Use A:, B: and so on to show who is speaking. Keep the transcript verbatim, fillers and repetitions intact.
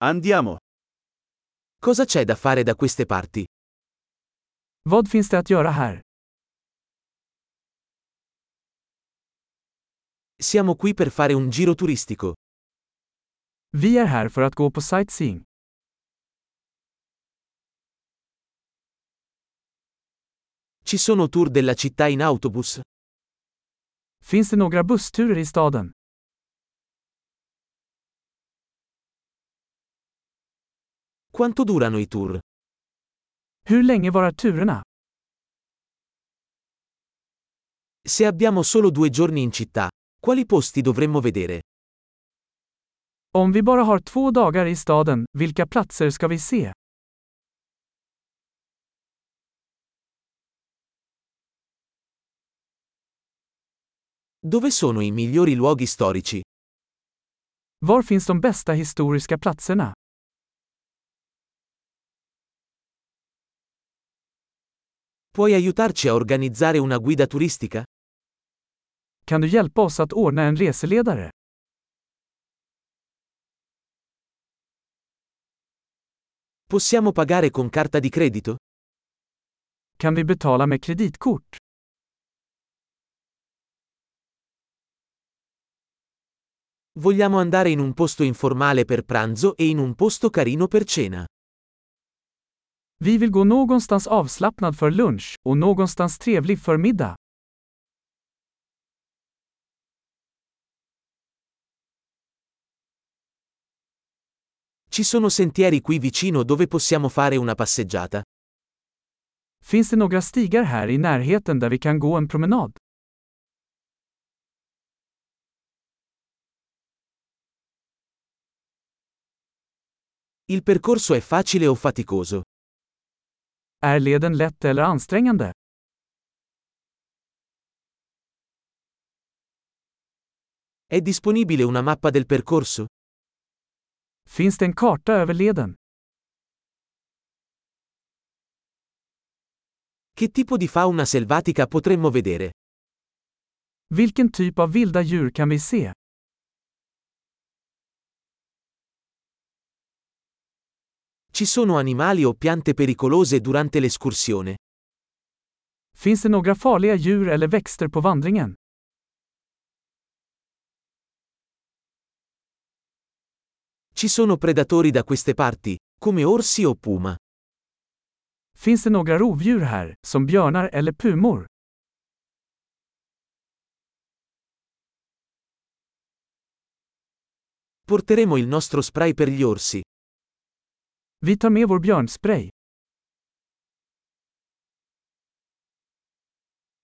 A: Andiamo.
B: Cosa c'è da fare da queste parti?
C: Vad finns det att göra här?
B: Siamo qui per fare un giro turistico.
C: Vi är här för att gå på sightseeing.
B: Ci sono tour della città in autobus?
C: Finns det några bussturer i staden?
B: Quanto durano i tour?
C: Hur länge varar turerna?
B: Se abbiamo solo due giorni in città, quali posti dovremmo vedere?
C: Om vi bara har två dagar i staden, vilka platser ska vi se?
B: Dove sono i migliori luoghi storici?
C: Var finns de bästa historiska platserna?
B: Puoi aiutarci a organizzare una guida turistica?
C: Kan du hjälpa oss att ordna en reseledare?
B: Possiamo pagare con carta di credito?
C: Kan vi betala med kreditkort?
B: Vogliamo andare in un posto informale per pranzo e in un posto carino per cena.
C: Vi vill gå någonstans avslappnad för lunch och någonstans trevlig för middag.
B: Ci sono sentieri qui vicino dove possiamo fare una passeggiata?
C: Finns det några stigar här i närheten där vi kan gå en promenad?
B: Il percorso è facile o faticoso?
C: Är leden lätt eller ansträngande?
B: È disponibile una mappa del percorso?
C: Finns det en karta över leden?
B: Che tipo di fauna selvatica potremmo vedere?
C: Vilken typ av vilda djur kan vi se?
B: Ci sono animali o piante pericolose durante l'escursione?
C: Finns det några farliga djur eller växter på vandringen?
B: Ci sono predatori da queste parti, come orsi o puma?
C: Finns det några rovdjur här, som björnar eller pumor?
B: Porteremo il nostro spray per gli orsi.
C: Vi tar med vår björnspray.